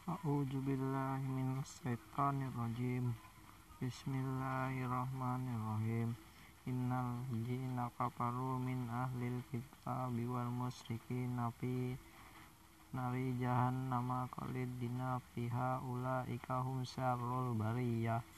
A'udzubillahi minasyaitonirrajim. Bismillahirrahmanirrahim. Innal ladzina kafaru min ahlil kitabi wal musyrikin fi nari jahannama khalidina fiha ulaika hum syarrul bariyah.